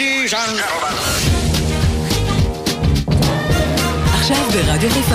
Ladies and gentlemen. עכשיו ברדיו חיפה.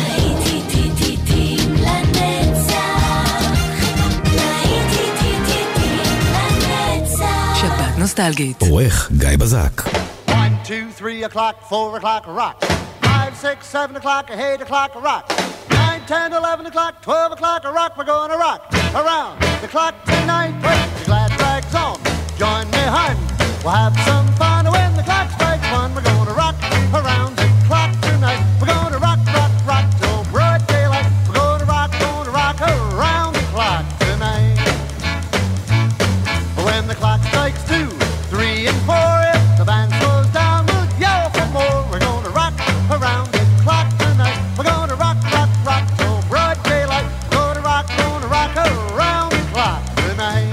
שבת נוסטלגית. עורך גיא בזק. 1, 2, 3 o'clock, 4 o'clock, rock. 5, 6, 7 o'clock, 8 o'clock, rock. 9, 10, 11 o'clock, 12 o'clock, rock. We're gonna rock around the clock tonight. Wait, the glad rags on. Join me, hun. We'll have some fun when the clock strikes 1. We're gonna rock around the clock tonight. We're gonna rock, rock, rock till broad daylight. We're gonna rock around the clock tonight. When the clock strikes 2, 3 and 4, if the band slows down, we'll yell for more. We're gonna rock around the clock tonight. We're gonna rock, rock, rock till broad daylight. We're gonna rock around the clock tonight.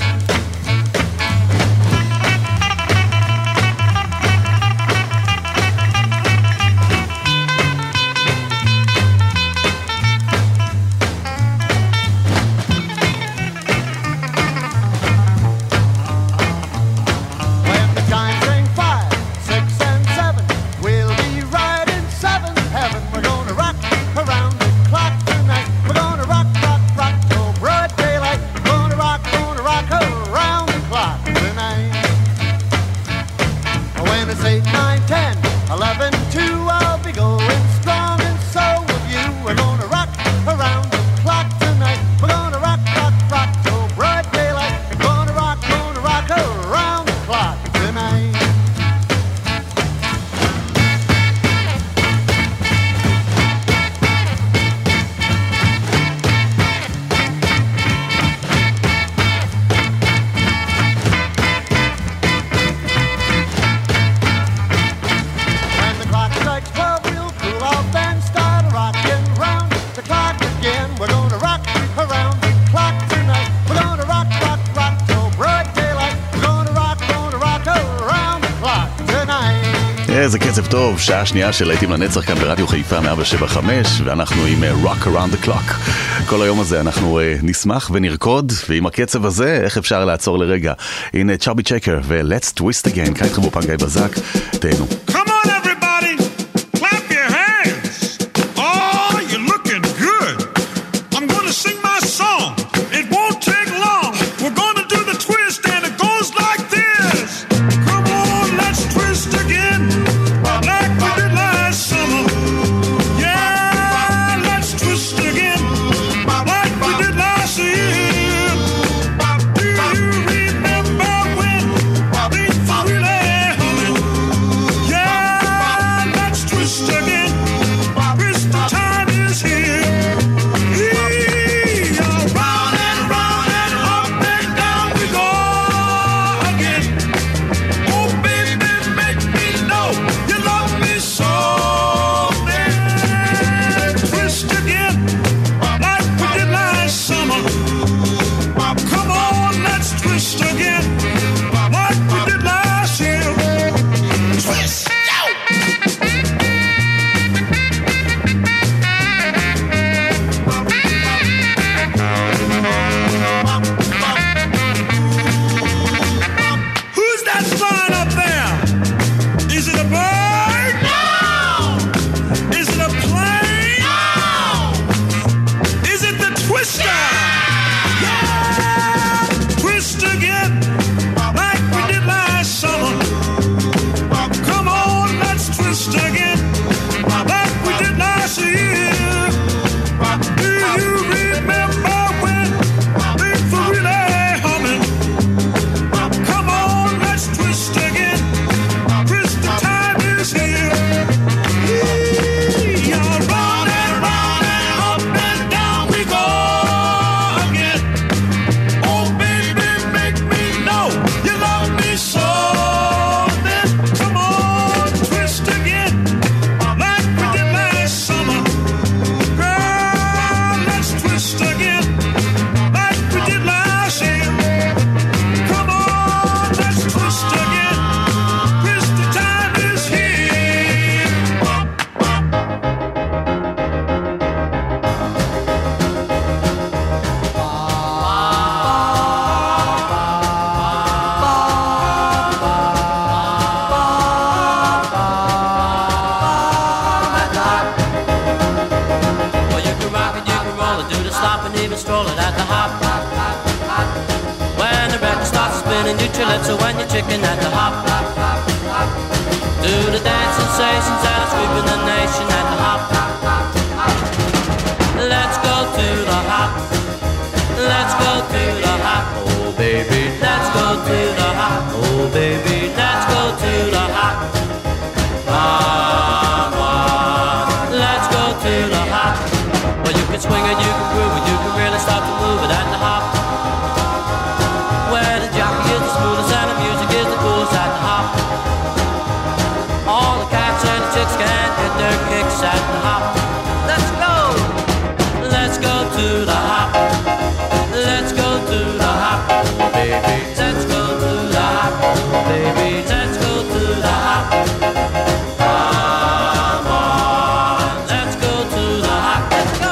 איזה קצב טוב, שעה שנייה של להיטים לנצח כאן ברדיו חיפה 107.5, ואנחנו עם Rock Around the Clock. כל היום הזה אנחנו נשמח ונרקוד, ועם הקצב הזה איך אפשר לעצור לרגע. הנה צ'ארבי צ'קר ו-Let's Twist Again, כאן איתכם באופן גיא בזק, תהנו. Come on everybody, clap your hands. Oh, you're looking good. I'm gonna sing my song. It won't take long. We're gonna do the twist and it goes like this. Come on, let's twist again. Like we did last summer. Yeah, let's twist again. Like we did last year. Do you remember when things were really humming? Yeah. even strolling at the hop. When the record starts spinning, you lips when you're chicken at the hop. Do the dance sensations that are sweeping the nation at the hop. Let's go to the hop. Let's go to the hop. Oh baby, let's go to the hop. Oh baby, let's go to the hop. Come on, let's go to the hop. Well, you can swing it, you can groove it, you can really start to move it at the hop. Where the jockey is the smoothest and the music is the coolest at the hop. All the cats and the chicks can get their kicks at the hop. Let's go! Let's go to the hop. Let's go to the hop, oh baby. Let's go to the hop, oh baby. Let's go to the hop. Come on, let's go to the hop. Let's go!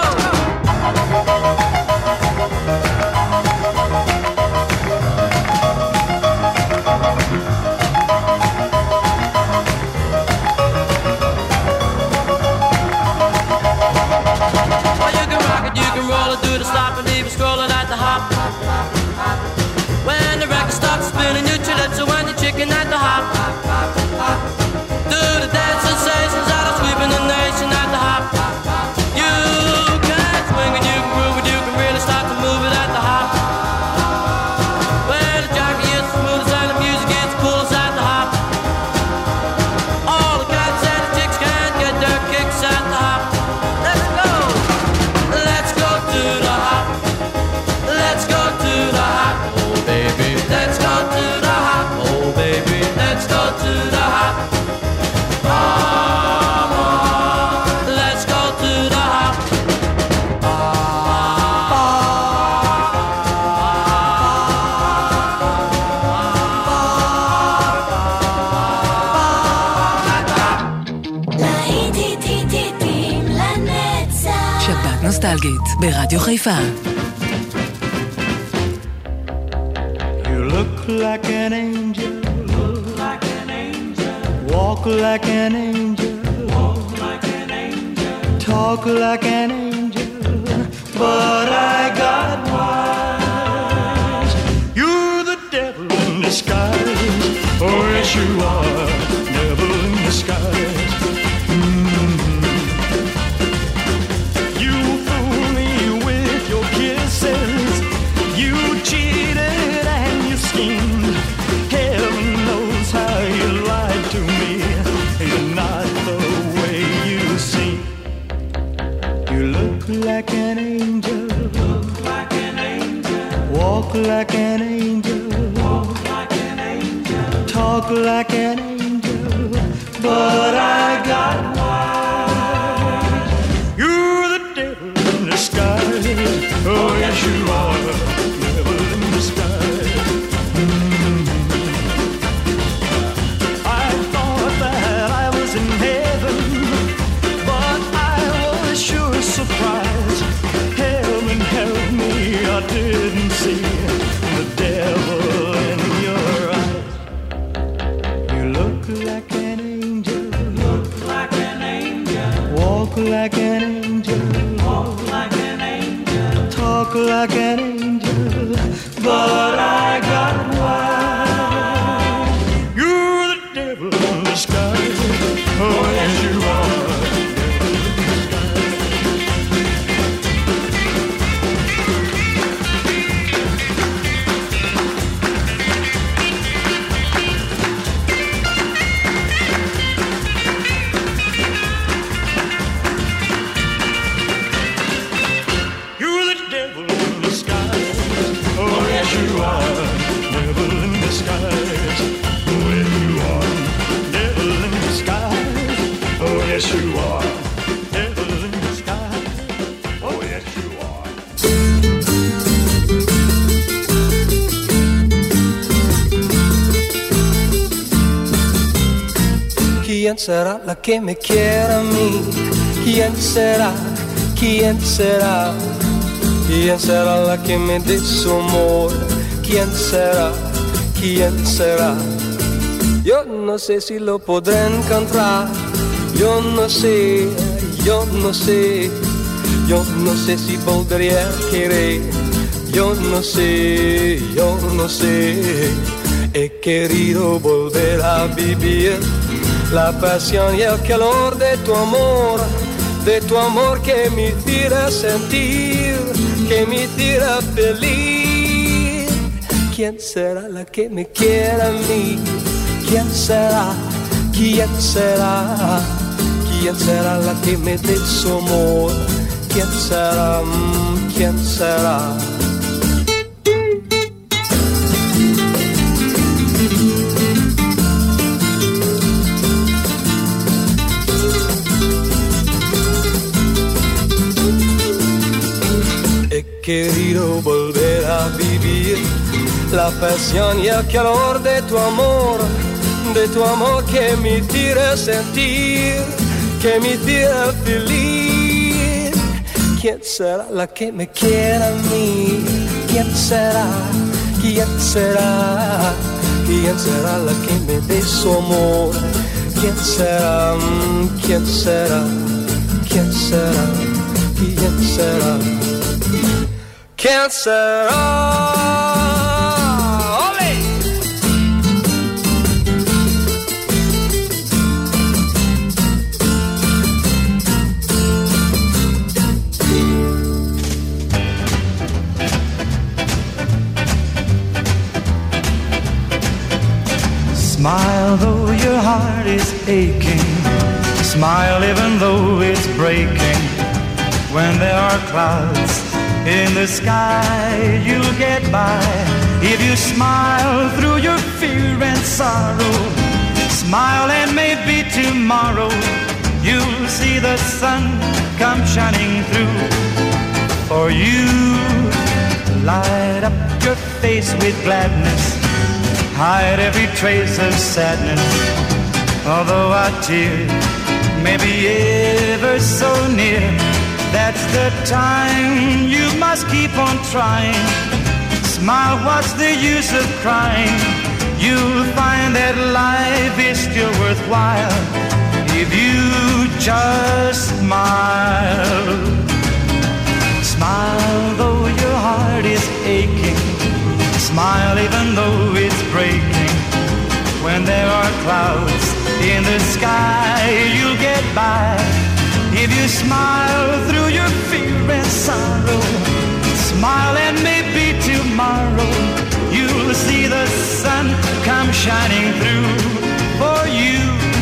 Do the stop and even scrolling at the hop. When the record starts spinning, you chill it, so when you're chicken at the hop. Do the dance sensations that are sweeping the nation at the hop. You can swing and you can groove and you can really start to move it at the hop. When the jockey is the smoothest and the music is the coolest at the hop. All the cats and the chicks can get their kicks at the hop. Let's go! Let's go to the hop. Let's go to the hop. Oh baby, let's go to the hop. Oh baby, let's go to the hop. Come on, let's go to the hop. שבת נוסטלגית ברדיו חיפה. Look like an angel, look like an angel. Walk like an angel, walk like an angel. Talk like an angel, but I got wise. You're the devil in disguise. Oh yes you are, devil in disguise. You fool me with your kisses. You cheated and you schemed. Heaven knows how you lied to me. You're not the way you seem. You look like an angel, look like an angel. Walk like an angel, walk like an angel. Talk like an angel, but I got wise. You're the devil in disguise. Oh yes you are. I thought that I was in heaven, but I was sure surprised. Heaven help me, I didn't see the devil in your eyes. You look like an angel, look like an angel. Walk like an angel, walk like an angel. Talk like an angel, but I got wise. You're the devil in disguise. Oh yes you are. You're the devil in disguise. Oh yes you are. Devil in disguise. Oh yes you are. Devil in disguise. Oh yes you are. Devil in disguise. Oh yes you are. ¿Quién será la que me quiera a mí? ¿Quién será? ¿Quién será? ¿Quién será la que me dé su amor? ¿Quién será? ¿Quién será? Yo no sé si lo podré encontrar. Yo no sé, yo no sé si volvería a querer. Yo no sé. He querido volver a vivir la pasión y el calor de tu amor que me hiciera sentir, que me hiciera feliz. ¿Quién será la que me quiera a mí? ¿Quién será? ¿Quién será? ¿Quién será la que me dé su amor? ¿Quién será? ¿Quién será? He querido volver a vivir la pasión y el calor de tu amor que me hiciera sentir, que me hiciera feliz. ¿Quién será la que me quiera a mí? ¿Quién será? ¿Quién será? ¿Quién será la que me dé su amor? ¿Quién será? ¿Quién será? ¿Quién será? ¿Quién será? ¿Quién será? Smile though your heart is aching. Smile even though it's breaking. When there are clouds in the sky, you'll get by. If you smile through your fear and sorrow, smile and maybe tomorrow you'll see the sun come shining through. For you, light up your face with gladness, hide every trace of sadness. Although a tear may be ever so near, that's the time you must keep on trying. Smile, what's the use of crying? You'll find that life is still worthwhile if you just smile. Smile though your heart is aching. Smile even though it's breaking. When there are clouds in the sky, you'll get by. If you smile through your fear and sorrow, smile and maybe tomorrow you'll see the sun come shining through. For you,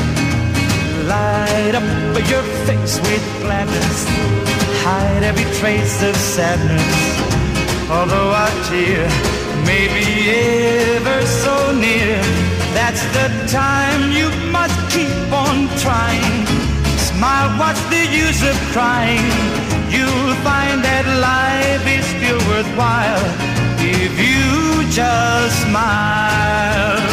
light up your face with gladness, hide every trace of sadness. Although a tear may be ever so near, that's the time you must keep on trying. Smile, what's the use of crying? You'll find that life is still worthwhile if you just smile.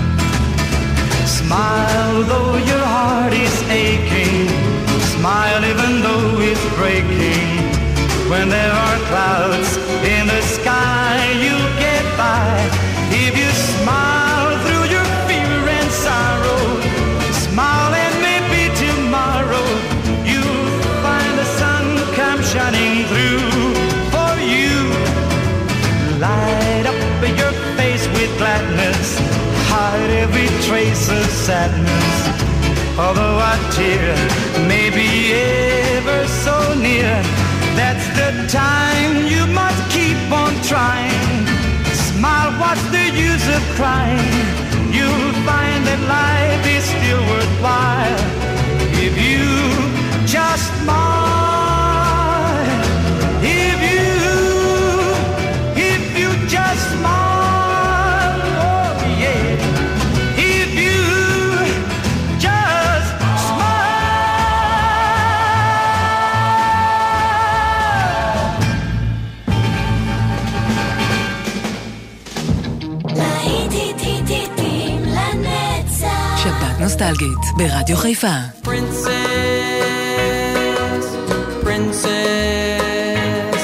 Smile though your heart is aching. Smile even though it's breaking. When there are clouds in the sky, you'll get by. If you smile through your fear and sorrow, smile and maybe tomorrow you'll find the sun come shining through. For you, light up your face with gladness, hide every trace of sadness. Although a tear may be ever so near, that's the time you must keep on trying. Smile, what's the use of crying? You'll find that life is still worthwhile if you just smile. If you just smile, oh yeah. If you just שבת נוסטלגית ברדיו חיפה. Princess, princess,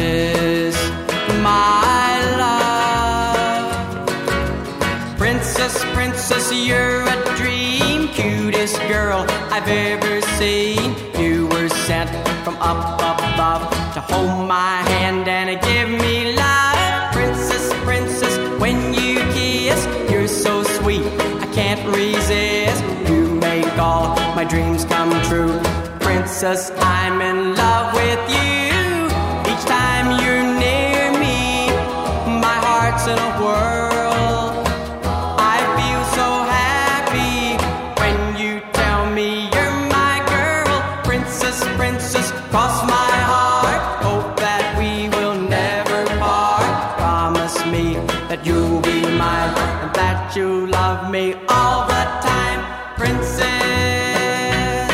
princess, my love. Princess princess, you're a dream. Cutest girl I've ever seen. You were sent from up above to hold my hand and give me love. Princess, princess, when you kiss, you're so sweet, I can't resist. You make all my dreams come true. Princess, I'm in love with you. Each time you're near me, my heart's in a whirl. I feel so happy when you tell me you're my girl. Princess, princess, cross my heart. Hope that we will never part. Promise me that you'll be mine and that you'll love me all the time. Princess,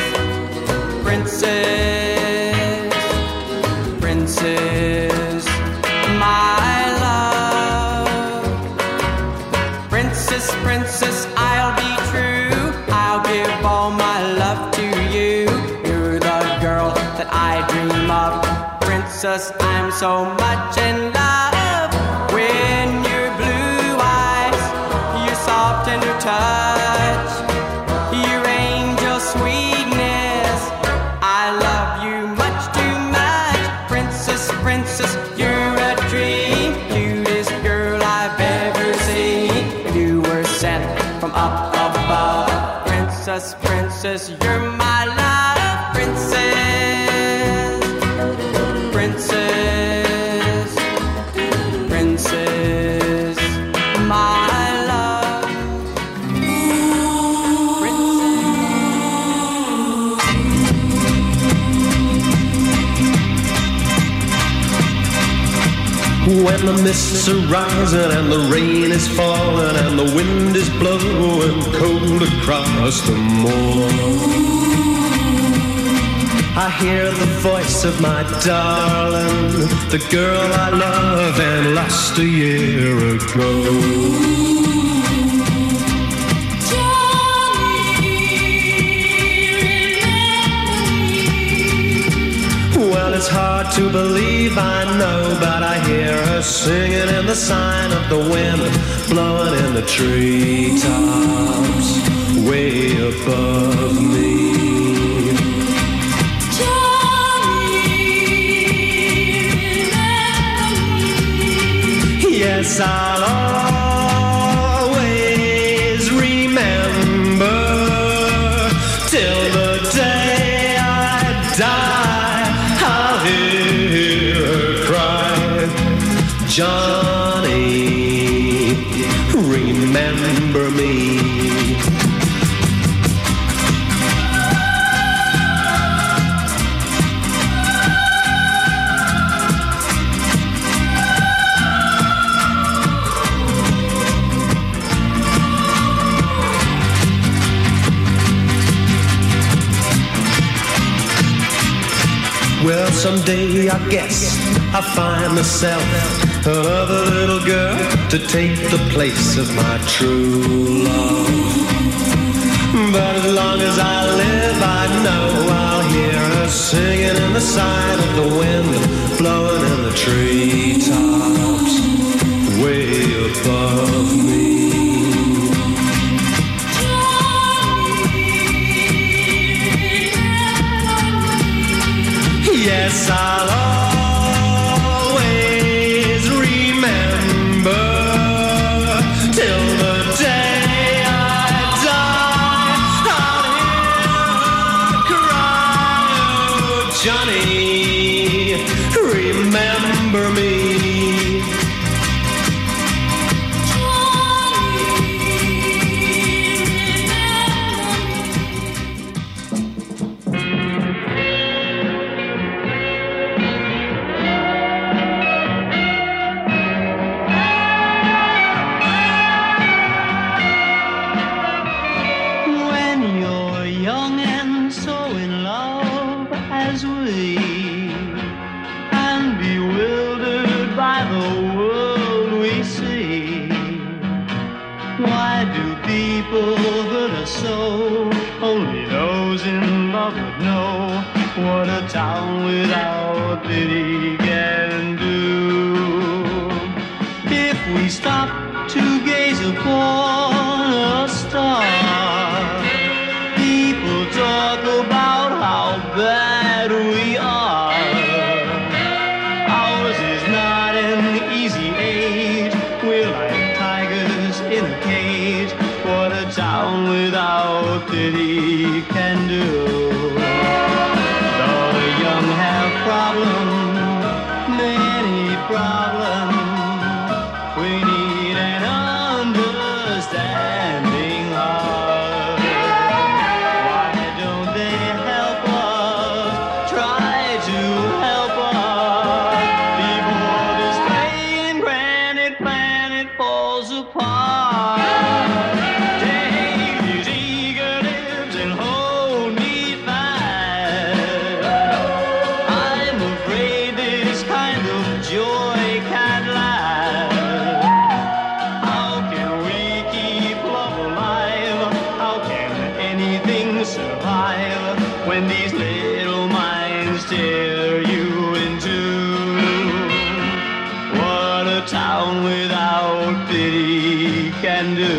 princess, princess, my love. Princess, princess, I'll be true. I'll give all my love to you. You're the girl that I dream of. Princess, I'm so much in love. When your blue eyes, your soft tender touch, your angel sweetness, I love you much too much. Princess, princess, you're a dream. Cutest girl I've ever seen. You were sent from up above. Princess, princess, you're my love. Princess, princess, princess, my love. When the mists are rising and the rain is falling and the wind is blowing cold across the moor, I hear the voice of my darling, the girl I love and lost a year ago. Well, it's hard to believe, I know, but I hear her singing in the sign of the wind, blowing in the treetops way above me. Yes, I'll always remember till the day I die. I'll hear her cry, Johnny, remember me. Well, someday I guess I'll find myself another little girl to take the place of my true love. But as long as I live, I know I'll hear her singing in the sign of the wind, blowing in the treetops way above me. Yes, I'll always remember till the day I die. I'll hear her cry, oh, Johnny, remember me. What a town without pity can do. If we stop to gaze upon age. What a town without pity can do. Though the young have problems, many problems, we need an understanding heart. Why don't they help us? Try to help us before this playing granite planet falls apart. Take these eager lips and hold me fast. I'm afraid this kind of joy can't last. How can we keep love alive? How can anything survive when these little minds tear you in two? What a town without pity can do.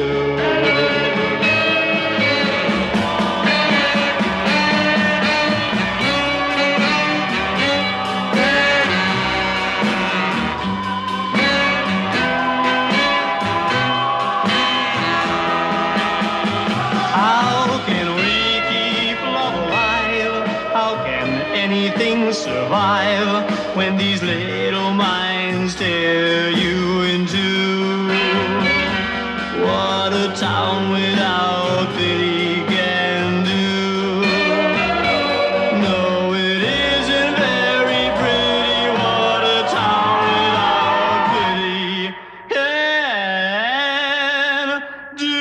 How can we keep love alive? How can anything survive when these little minds tear you in two? What a town without pity can do. No, it isn't very pretty. What a town without pity can do.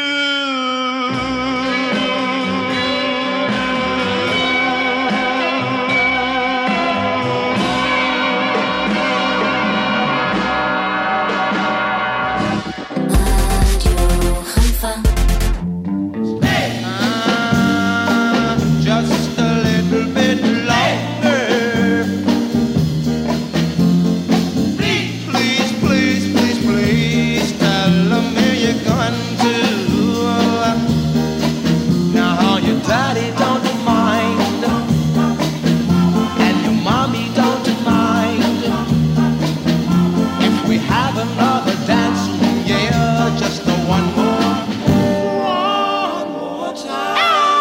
Just a little bit longer. Please, please, please, please, please tell me you're going to. Now your daddy don't mind, and your mommy don't mind if we have another dance. Yeah, just the one more time.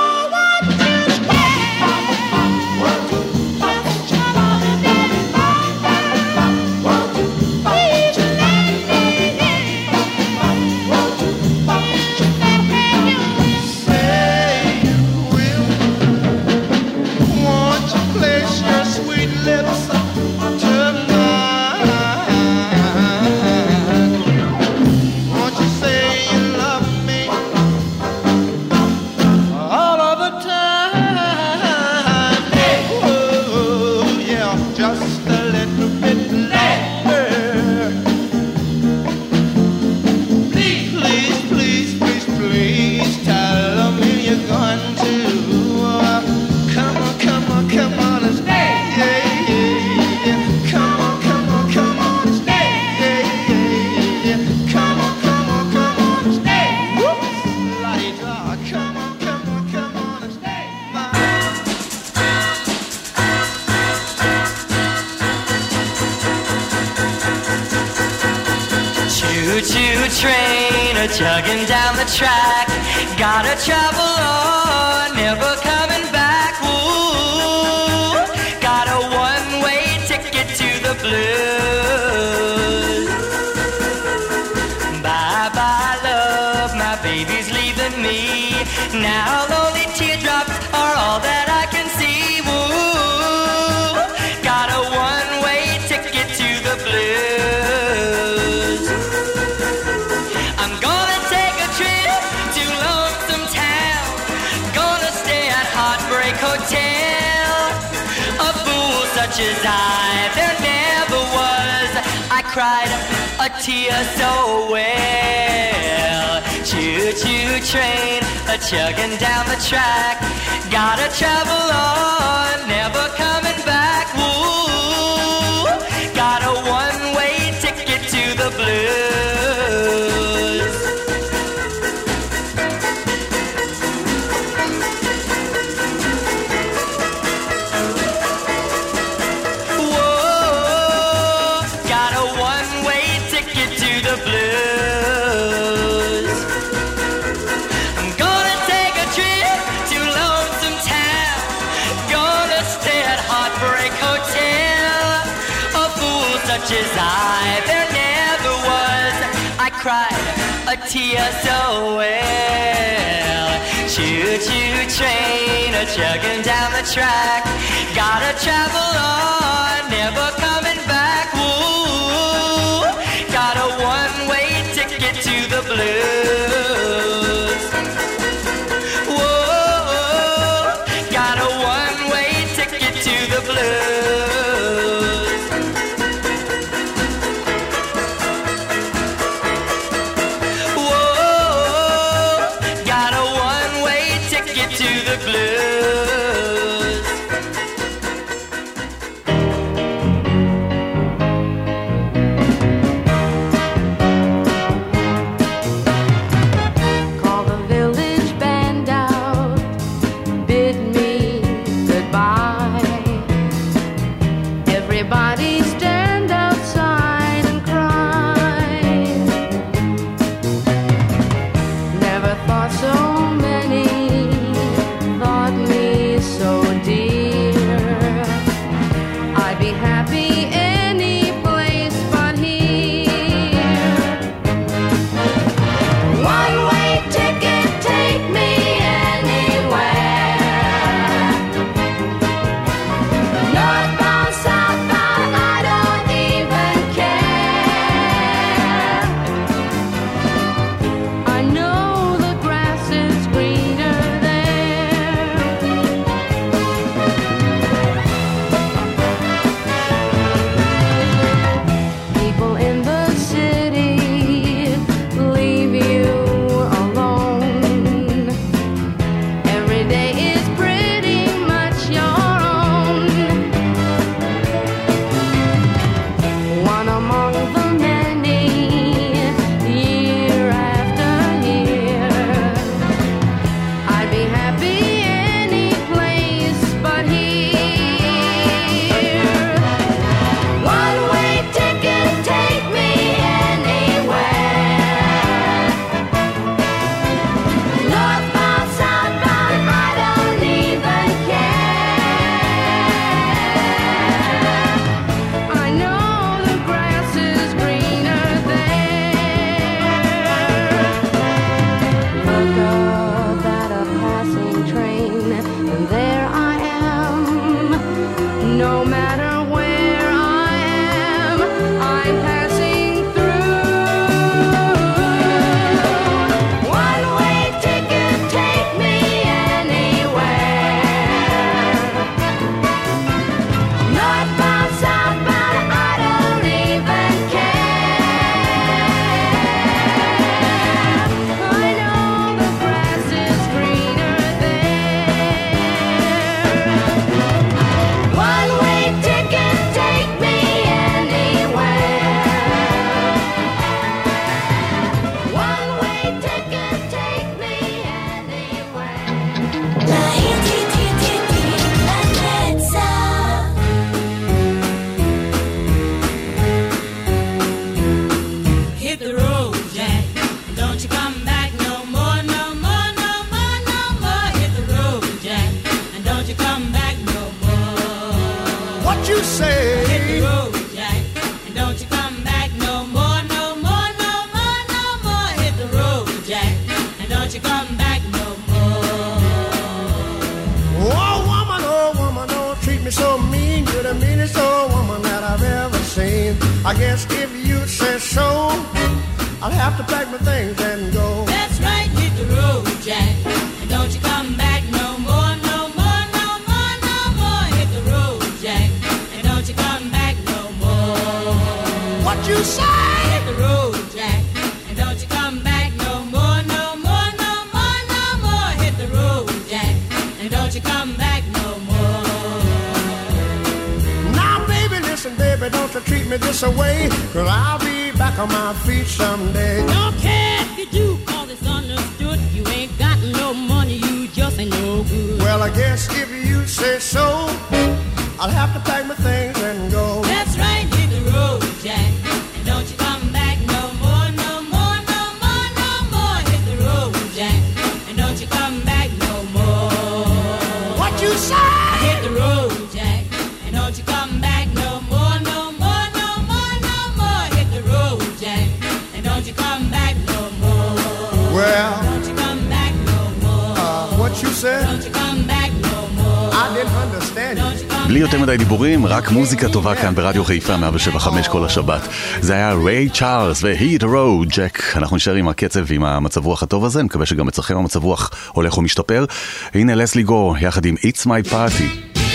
Just a little bit longer. Please, please, please, please, please tell me you're going to. Come on, come on, come on and stay. Yeah, yeah, yeah. Come on, come on, come on and stay. Yeah, yeah, yeah. Come on, come on, come on and stay. Whoops, la-di-da. Come on, come on, come on and stay. Choo-choo train a-chugging down the track. Gotta travel on, never coming back. Ooh, got a one-way ticket to the blues. Bye-bye, love, my baby's leaving me. Now lonely teardrops are all that I can see. Ooh, got a one-way ticket to the blues. I'm gonna take a trip to Lonesome Town. Gonna stay at Heartbreak Hotel. A fool such as I, there never was. I cried a tear so well. Choo-choo train a-chugging down the track. Gotta travel on, never coming back. Ooh, got a one-way ticket to the blues. Got a one-way ticket to the blues. much as there never was. I cried a tear so well. Choo-choo train a-chugging down the track. Gotta travel on, never coming back. Woo, got a one-way ticket to the blues. Whoa, got a one-way ticket to the blues. Whoa, got a one-way ticket to the blues. Call the village band out, bid me goodbye. Everybody stand outside and cry. Never thought so many thought me so dear. I'd be happy any place but here. One-way ticket, take me anywhere. Northbound, southbound, I don't even care. I know the grass is greener there. People in the city leave you alone. Every day is pretty much your own. One among the many, year after year. I'd be happy any place but here. One-way ticket, take me anywhere. Northbound, southbound, I don't even care. I know the grass is greener there. Look up at a passing train, and there I am. No matter where I am, I'm passing through. One-way ticket, take me anywhere. Northbound, southbound, I don't even care. I know the grass is greener there. One-way ticket, take me anywhere. One-way ticket, take me anywhere. Hit the road, Jack. Don't you come back no more, no more, no more, no more. Hit the road, Jack. And don't you come back no more. What you say? Hit the road, Jack. And don't you come back no more, no more, no more, no more. Hit the road, Jack. And don't you come back no more. Oh woman, don't treat me so mean. You're the meanest old woman that I've ever seen. I guess if you say so, I'll have to pack my things and go. That's right, hit the road, Jack. And don't you come back no more, no more, no more, no more. Hit the road, Jack. And don't you come back no more. What you say? Hit the road, Jack. And don't you come back no more, no more, no more, no more. Hit the road, Jack. And don't you come back no more. Now baby, listen baby, don't you treat me this way, 'cause I'll be back on my feet someday. Don't care if you do, 'cause it's understood. You ain't got no money, you just ain't no good. Well, I guess if you say so, I'll have to pack my things and go. That's right, hit the road, Jack. And don't you come back no more, no more, no more, no more. Hit the road, Jack. And don't you come back no more. What you say? Hit the road, Jack. And don't you come back no more, no more, no more, בלי יותר מדי דיבורים, רק מוזיקה טובה כאן ברדיו חיפה 107.5 כל השבת. זה היה ריי צ'ארלס ו-Hit the Road Jack. אנחנו נשאר עם הקצב ועם המצב רוח הטוב הזה, מקווה שגם אצלכם המצב רוח הולך ומשתפר. הנה לסלי גור יחד עם It's My Party.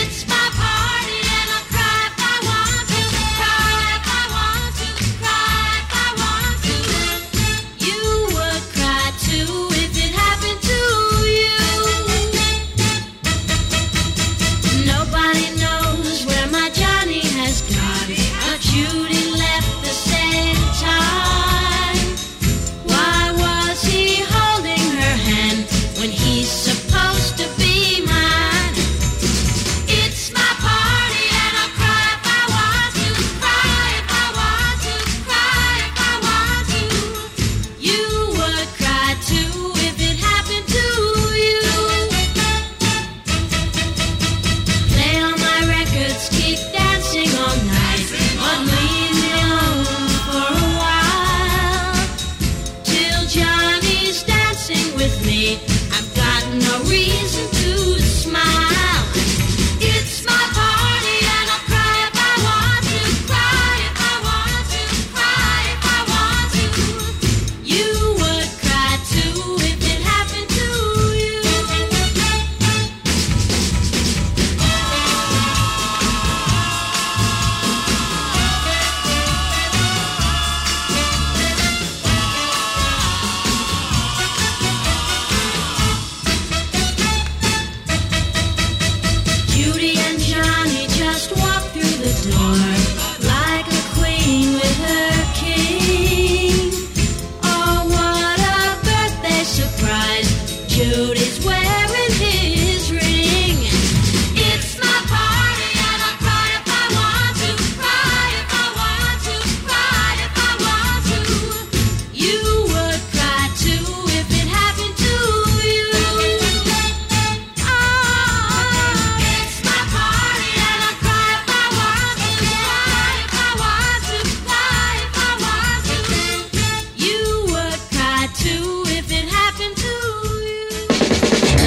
Supposed to be mine. It's my party and I'll cry if I want to. Cry if I want to. Cry if I want to. You would cry too if it happened to you. Play all my records, keep dancing all night, but leave me alone for a while till Johnny's dancing with me. No reason to smile. It's my party and I'll cry if I want to. Cry if I want to. Cry if I want to. You would cry too if it happened to you. Judy and Johnny just walked through the door like a queen with her king. Oh, what a birthday surprise. Judy's wearing his ring. It's my party and I'll cry if I want to. Cry if I want to. Cry if I want to. You would cry too if it happened to you. It's my party and I'll cry if I want to. Cry if I want to. Cry if I want to. You would cry too if it happened to you.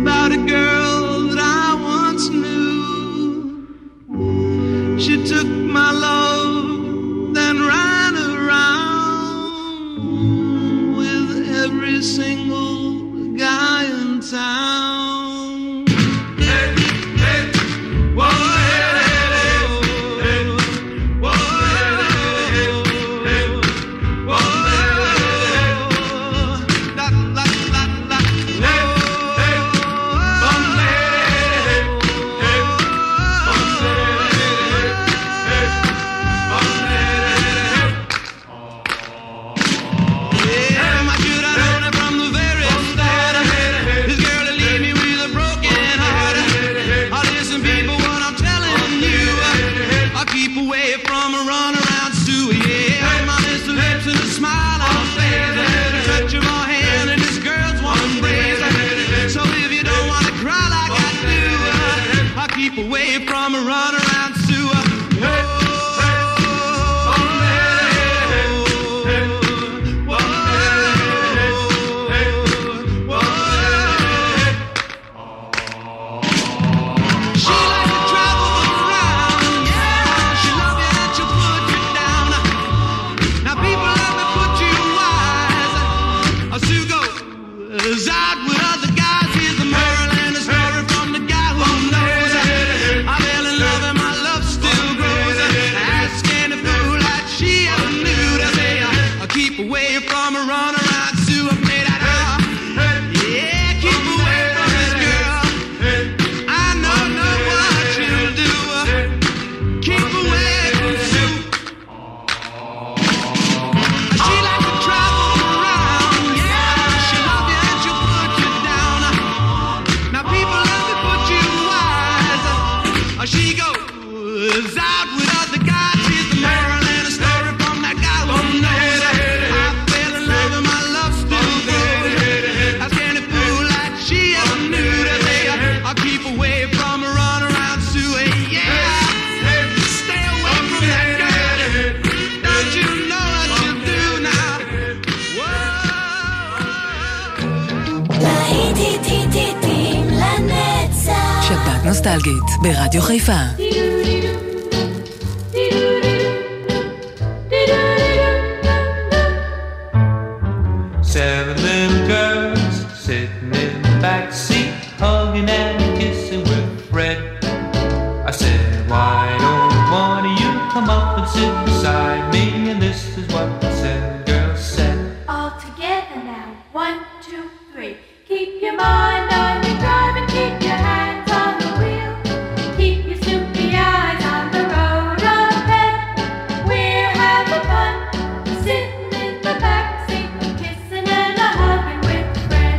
about a girl that I once knew. She took my love, then ran around with every single guy in town. Hey, hey, whoa, hey, hey, hey, whoa, hey, hey, whoa, la la la la, hey, hey, bum, hey, hey, bum, yeah, my should I known it from the very start. This girl will leave me with a broken heart. Listen, people, what I'm telling you, I'll keep away from a runaround Sue. Yeah, my Mr. Lips and a smile on her face, the touch of her hand and this girl's one embrace. So if you don't want to cry like I do, I'll keep away from a runaround Sue. She likes to travel around, yeah. She love you and she'll put you down. Now people love to put you wise. Sue goes out with other guys. Here's the moral and the story from the guy who knows. I fell in love and my love still grows. Ask any fool like she ever knew to say, I'll keep away from a runaround Sue. I play that out. Yeah, keep away from this girl. I know what you'll do. Keep away from Sue. She likes to travel around, yeah. She love you and she'll put you down. Now people love to put you wise. She goes out with other guys. Here's the moral and a story from that guy who knows. I fell in love and my love still grows. Ask any fool like she ever knew to say, I'll keep away from a runaround Sue. Yeah, stay away from that girl. Don't you know what you do now? להיטים לנצח. שבת נוסטלגית ברדיו חיפה. Seven little girls sitting in the back seat, hugging and kissing with Fred. I said, why don't one of you come up and sit beside me? And this is what the seven girls said. All together now, 1, 2, 3. Keep your mind on your drive and keep your hands on the wheel. Keep your snoopy eyes on the road ahead. We're having fun, sitting in the backseat, kissing and a hugging with Fred.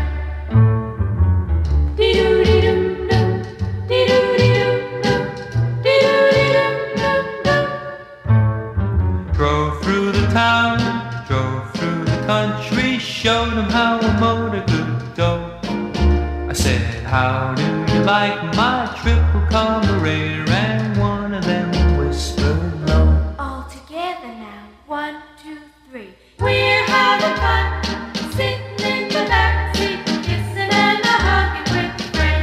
Dee-doo-dee-doo-doo, dee-doo-dee-doo-doo, dee-doo-dee-doo-doo-doo. Drove through the town, drove through the country, showed them how a motor could go. I said, how do you like my triple carburetor? And one of them whispered low. All together now, 1, 2, 3. We're having fun, sitting in the backseat, kissing and a hugging with Fred.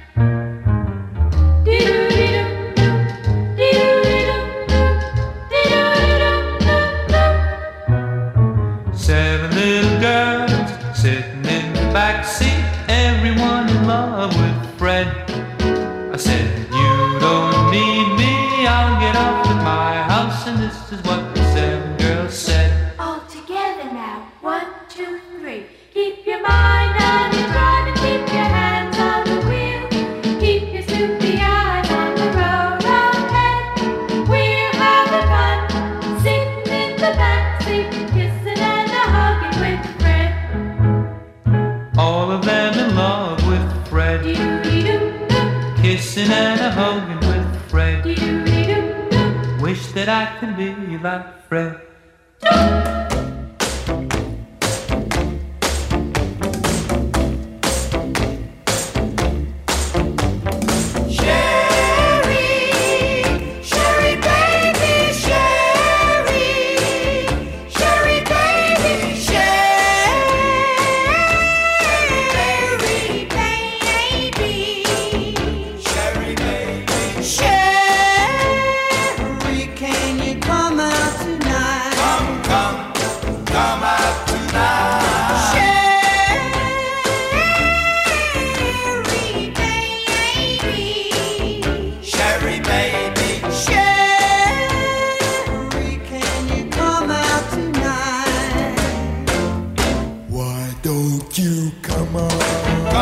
Dee-doo-dee-doo-doo, dee-doo-dee-doo-doo, dee-doo-dee-doo-doo-doo. Seven little girls sitting in the back seat, everyone in love with Fred. I said, you don't need me, I'll get off at my house. And this is what the seven girls said. All together now, 1, 2, 3. Keep your mind on your drive and keep your hands on the wheel. Keep your snoopy eyes on the road ahead. We're having fun, sitting in the backseat, kissing and a hugging with Fred. All of them in love with Fred, Dee-doo-dee-doo-doo, kissing and a hugging with Fred. dee-doo-dee-doo-doo. Wish that I could be like Fred. Sherry, baby,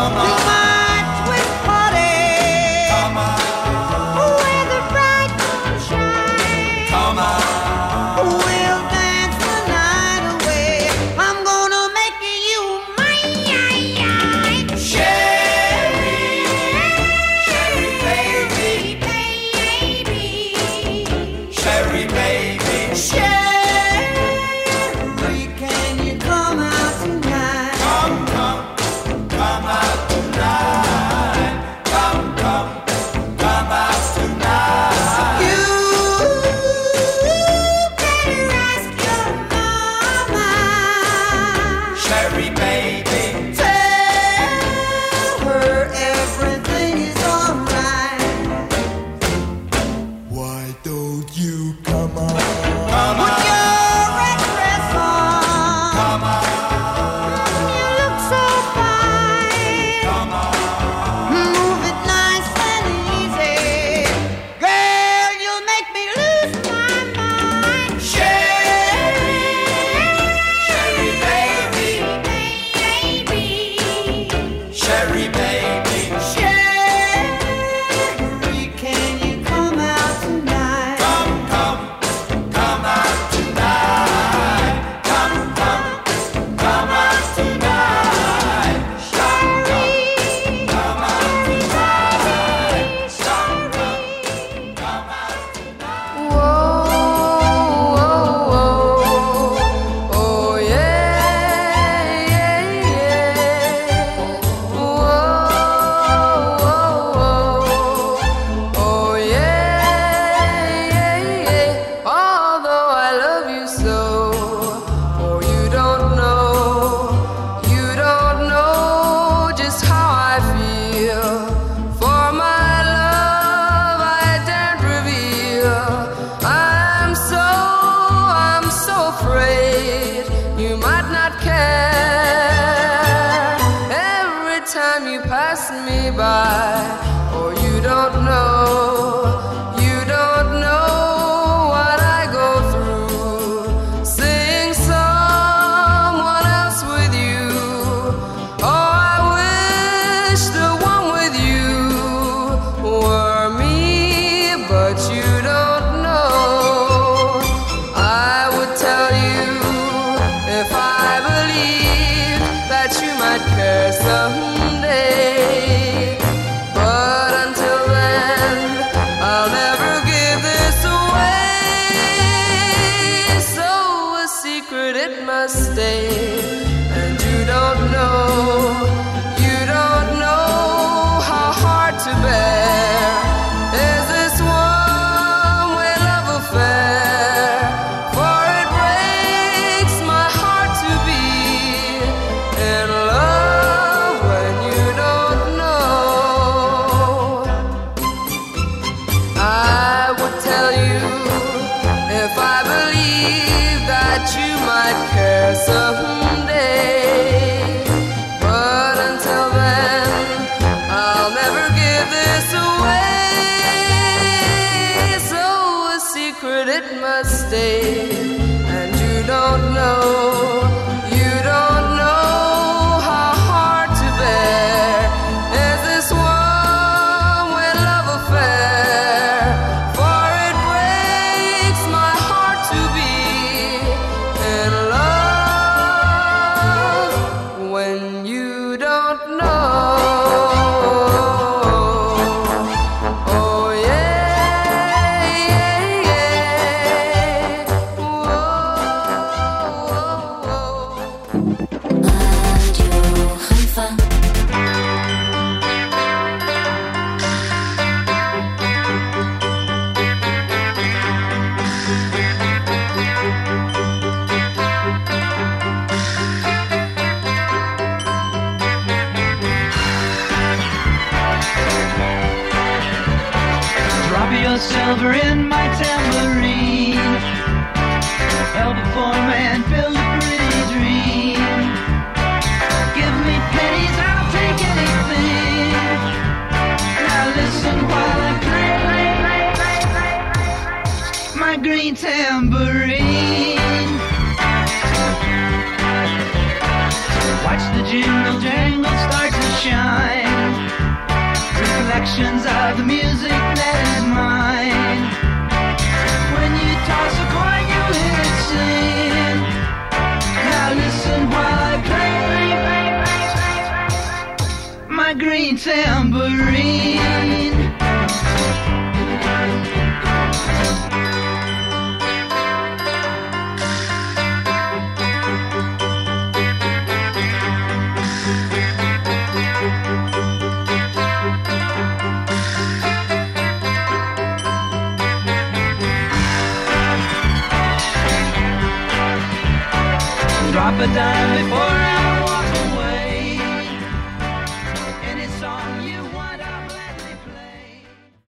silver in my tambourine. Help a poor man build a pretty dream. Give me pennies, I'll take anything. Now listen while I play my green tambourine. Watch the jingle jangle start to shine. Reflections of the music that is mine. When you toss a coin, you hear it sing. Now listen while I play my green tambourine. Drop a dime before